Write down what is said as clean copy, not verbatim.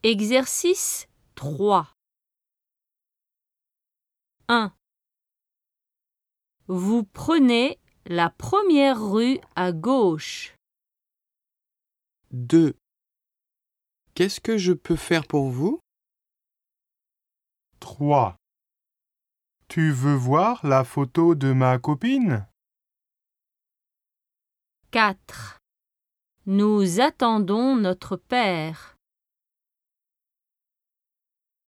Exercice 3. 1. Vous prenez la première rue à gauche. 2. Qu'est-ce que je peux faire pour vous? 3. Tu veux voir la photo de ma copine? 4. Nous attendons notre père.